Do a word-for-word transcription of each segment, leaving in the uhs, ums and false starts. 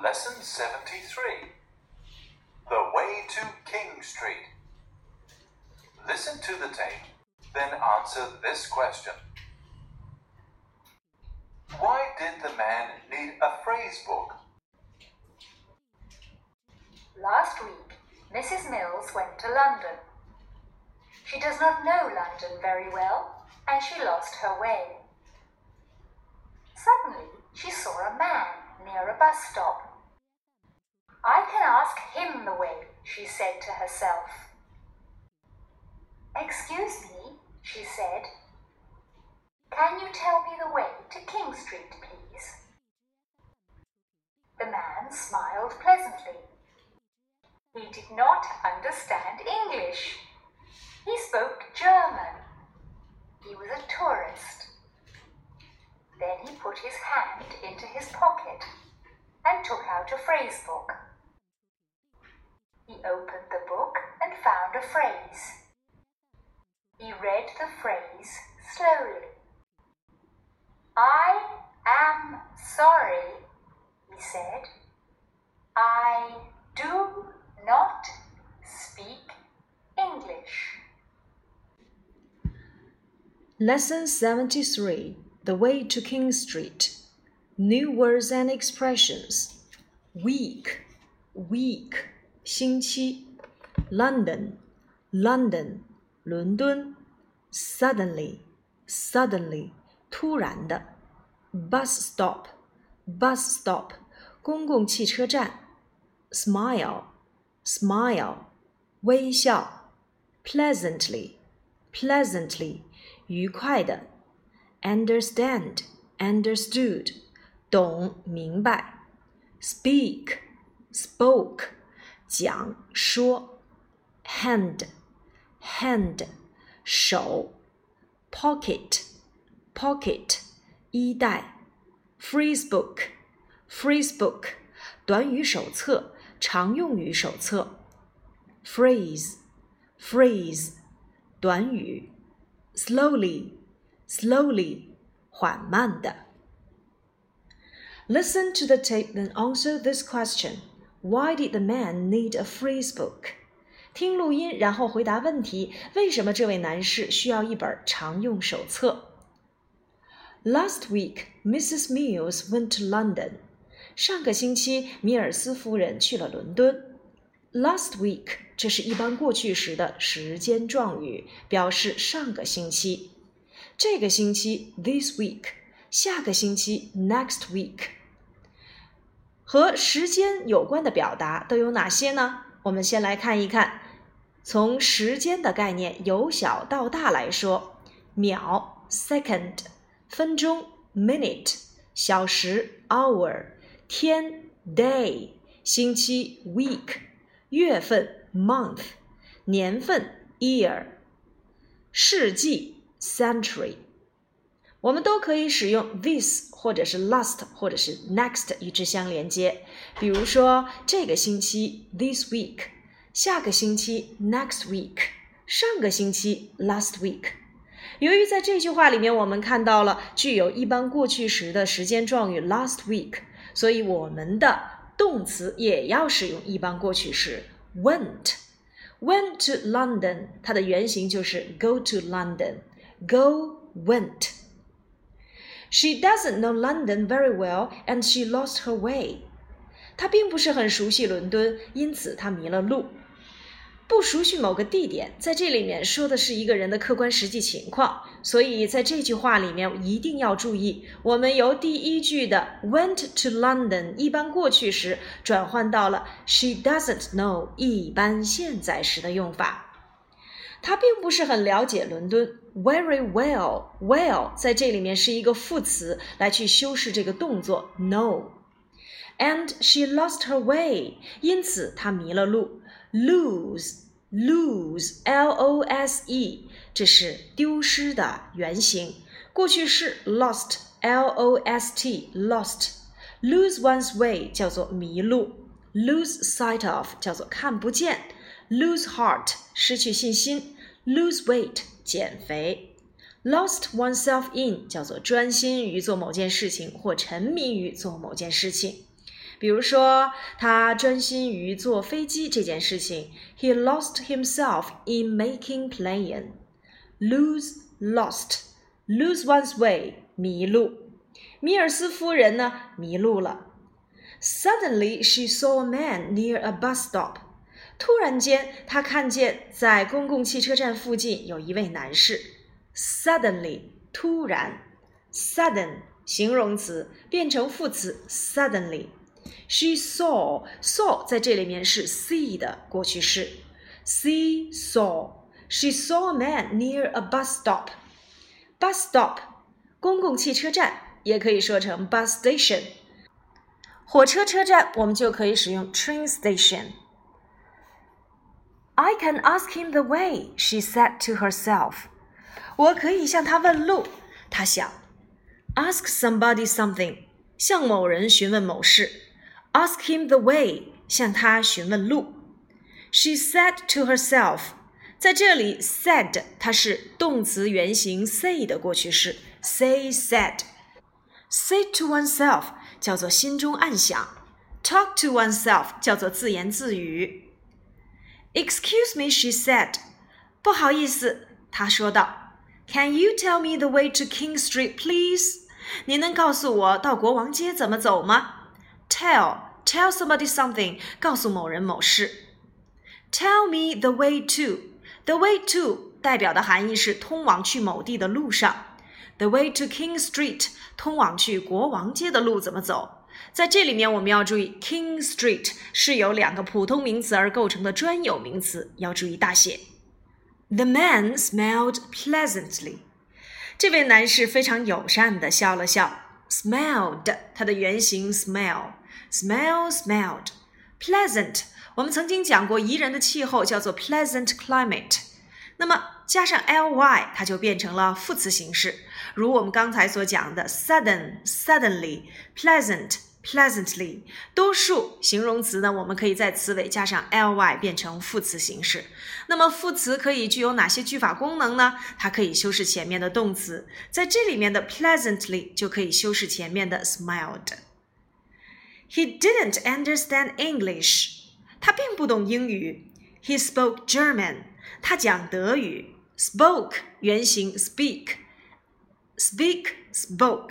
Lesson seventy-three, The Way to King Street. Listen to the tape, then answer this question. Why did the man need a phrase book? Last week, Missus Mills went to London. She does not know London very well, and she lost her way. Suddenly, she saw a man near a bus stop. I can ask him the way, she said to herself. Excuse me, she said. Can you tell me the way to King Street, please? The man smiled pleasantly. He did not understand English. He spoke German. He was a tourist. Then he put his hand into his pocket and took out a phrase book. He opened the book and found a phrase. He read the phrase slowly. I am sorry, he said. I do not speak English. Lesson seventy-three, The Way to King Street. New words and expressions. Week, week, 星期。London, London, 伦敦。Suddenly, suddenly, 突然的。Bus stop, bus stop, 公共汽车站。Smile, smile, 微笑。Pleasantly, pleasantly, 愉快的。Understand, understood, 懂明白。Speak, spoke, 讲说。Hand, hand, 手。Pocket, pocket, 衣袋。Phrase book, phrase book, 短语手册，常用语手册。Phrase, phrase, 短语。Slowly, slowly, 缓慢的。Listen to the tape then answer this question. Why did the man need a phrase book? 听录音，然后回答问题。为什么这位男士需要一本常用手册？ Last week, Missus Mills went to London. 上个星期，米尔斯夫人去了伦敦。Last week, 这是一般过去时的时间状语，表示上个星期。这个星期 this week, 下个星期 next week。和时间有关的表达都有哪些呢？我们先来看一看。从时间的概念由小到大来说，秒 second, 分钟 minute, 小时 hour, 天 day, 星期 week, 月份 month, 年份 year, 世纪 century。 我们都可以使用 this 或者是 last 或者是 next 与之相连接。比如说这个星期 this week， 下个星期 next week， 上个星期 last week。 由于在这句话里面我们看到了具有一般过去时的时间状语 last week， 所以我们的动词也要使用一般过去时 went。 Went to London， 它的原型就是 go to London， go went。She doesn't know London very well and she lost her way. 她并不是很熟悉伦敦，因此她迷了路。不熟悉某个地点，在这里面说的是一个人的客观实际情况，所以在这句话里面一定要注意，我们由第一句的 went to London 一般过去时转换到了 she doesn't know 一般现在时的用法。他并不是很了解伦敦 very well, well 在这里面是一个副词来去修饰这个动作 know。 And she lost her way， 因此她迷了路。 lose, lose, L O S E， 这是丢失的原型，过去式 lost, L O S T, lost。 lose one's way 叫做迷路， lose sight of 叫做看不见， lose heart 失去信心， lose weight 减肥， lost oneself in 叫做专心于做某件事情或沉迷于做某件事情。 比如说，他专心于坐飞机这件事情。He lost himself in making plane. Lose, lost. Lose one's way, 迷路。米尔斯夫人呢，迷路了。Suddenly, she saw a man near a bus stop. 突然间，她看见在公共汽车站附近有一位男士。Suddenly, 突然。Sudden, 形容词，变成副词 suddenly. She saw, saw 在这里面是 see 的过去式。See, saw. She saw a man near a bus stop. Bus stop, 公共汽车站，也可以说成 bus station。火车车站我们就可以使用 train station. I can ask him the way, she said to herself. 我可以向他问路，她想。Ask somebody something, 向某人询问某事。Ask him the way, 向他询问路。She said to herself, 在这里 said 它是动词原形 say 的过去式 say said. Say to oneself 叫做心中暗想， talk to oneself 叫做自言自语。Excuse me, she said. 不好意思，她说道。Can you tell me the way to King Street, please? 你能告诉我到国王街怎么走吗？ Tell, tell somebody something, 告诉某人某事。Tell me the way to. The way to 代表的含义是通往去某地的路上。The way to King Street 通往去国王街的路怎么走？在这里面我们要注意 King Street 是由两个普通名词而构成的专有名词，要注意大写。The man smiled pleasantly. 这位男士非常友善地笑了笑。Smiled 它的原形 smell smell smelled pleasant 我们曾经讲过宜人的气候叫做 pleasant climate， 那么加上 ly 它就变成了副词形式，如我们刚才所讲的 sudden suddenly pleasant pleasantly， 多数形容词呢我们可以在词尾加上 ly 变成副词形式。那么副词可以具有哪些句法功能呢？它可以修饰前面的动词，在这里面的 pleasantly 就可以修饰前面的 smiled。 He didn't understand English. 他并不懂英语。 He spoke German. 他讲德语。 Spoke 原形 speak Speak, spoke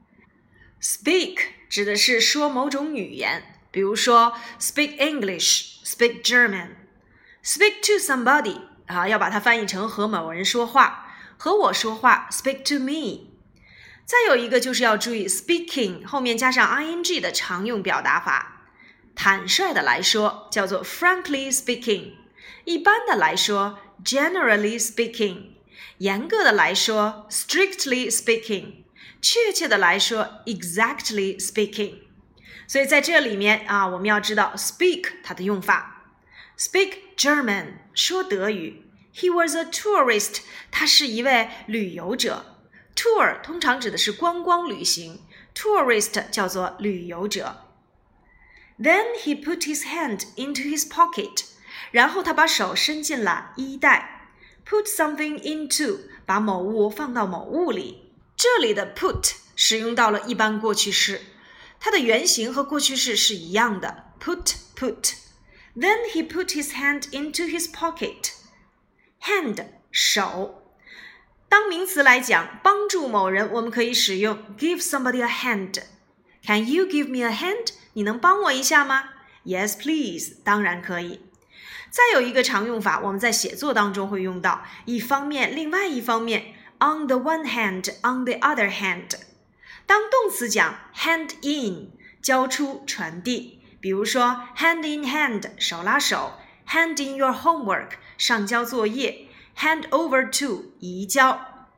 Speak 指的是说某种语言，比如说 speak English, speak German. Speak to somebody 啊，要把它翻译成和某人说话，和我说话 speak to me。 再有一个就是要注意 speaking 后面加上 ing 的常用表达法。坦率的来说叫做 frankly speaking， 一般的来说 generally speaking， 严格的来说 strictly speaking， 确切的来说 exactly speaking。 所以在这里面啊，我们要知道 speak 它的用法。 Speak German 说德语。 He was a tourist 他是一位旅游者。 Tour 通常指的是观光旅行， tourist 叫做旅游者。 Then he put his hand into his pocket， 然后他把手伸进了衣袋。 Put something into 把某物放到某物里，这里的 put 使用到了一般过去式，它的原型和过去式是一样的 put put。 Then he put his hand into his pocket. Hand 手，当名词来讲帮助某人我们可以使用 give somebody a hand。 Can you give me a hand？ 你能帮我一下吗？ Yes please， 当然可以。再有一个常用法我们在写作当中会用到，一方面另外一方面 on the one hand on the other hand。 当动词讲 hand in 交出传递，比如说 hand in hand 手拉手， hand in your homework 上交作业， hand over to 移交。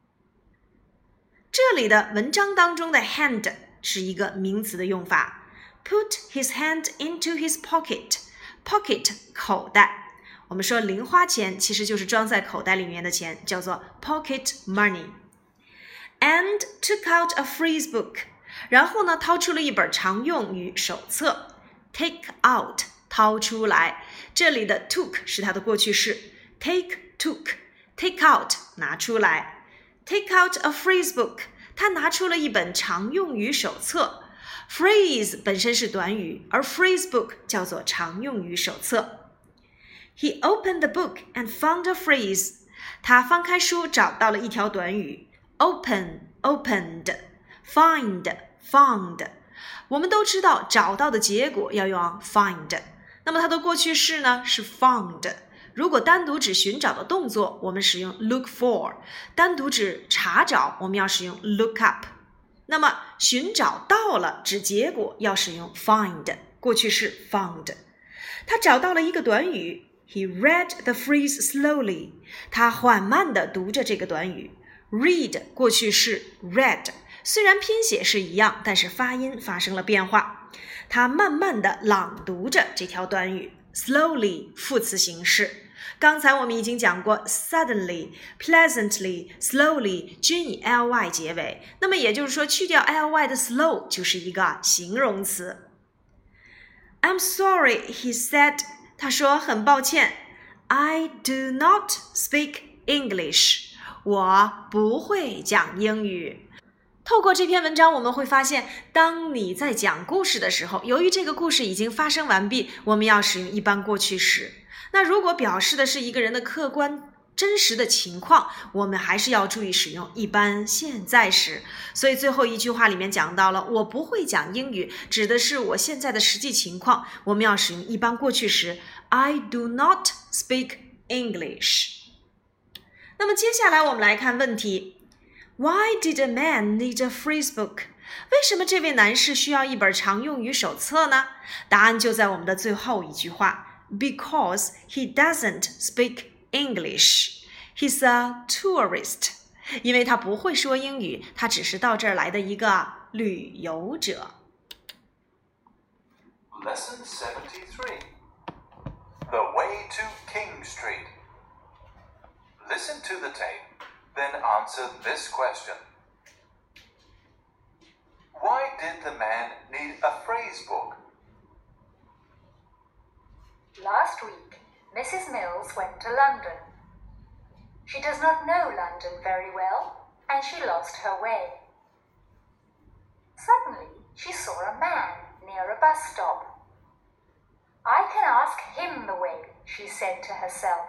这里的文章当中的 hand 是一个名词的用法， put his hand into his pocket。 pocket 口袋，我们说零花钱其实就是装在口袋里面的钱，叫做 pocket money。 And took out a phrase book， 然后呢掏出了一本常用语手册。 Take out 掏出来，这里的 took 是它的过去式， take took take out 拿出来。 Take out a phrase book， 他拿出了一本常用语手册。 Phrase 本身是短语，而 phrase book 叫做常用语手册。He opened the book and found a phrase. 他翻开书找到了一条短语 open, opened, find, found. 我们都知道找到的结果要用 find. 那么它的过去式呢是 found. 如果单独指寻找的动作，我们使用 look for. 单独指查找，我们要使用 look up. 那么寻找到了指结果要使用 find. 过去式 found. 他找到了一个短语He read the phrase slowly. 他缓慢地读着这个短语。Read 过去式 read， 虽然拼写是一样，但是发音发生了变化。他慢慢地朗读着这条短语。Slowly 副词形式。刚才我们已经讲过 suddenly, pleasantly, slowly 均以 ly 结尾。那么也就是说，去掉 ly 的 slow 就是一个形容词。I'm sorry, he said.他说很抱歉 I do not speak English. 我不会讲英语。透过这篇文章我们会发现，当你在讲故事的时候，由于这个故事已经发生完毕，我们要使用一般过去时。那如果表示的是一个人的客观真实的情况，我们还是要注意使用一般现在时。所以最后一句话里面讲到了我不会讲英语，指的是我现在的实际情况，我们要使用一般过去时 I do not speak English。 那么接下来我们来看问题 Why did a man need a phrase book？ 为什么这位男士需要一本常用语手册呢？答案就在我们的最后一句话 Because he doesn't speak English. He's a tourist. 因为他不会说英语，他只是到这儿来的一个旅游者。 Lesson seventy-three. The way to King Street. Listen to the tape, then answer this question. Why did the man need a phrase book? Last week, Missus Mills went to London. She does not know London very well, and she lost her way. Suddenly, she saw a man near a bus stop. I can ask him the way, she said to herself.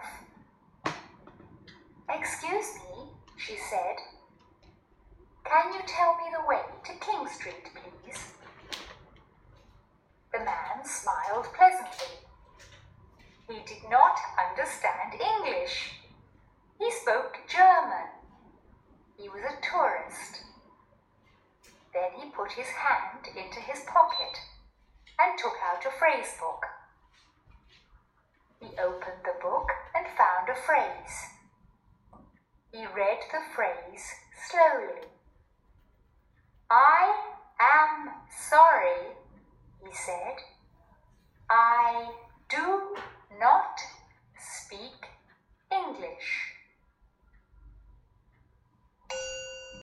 Excuse me, she said. Can you tell me the way to King Street, please? The man smiled pleasantly. He did not understand English. He spoke German. He was a tourist. Then he put his hand into his pocket and took out a phrase book. He opened the book and found a phrase. He read the phrase slowly.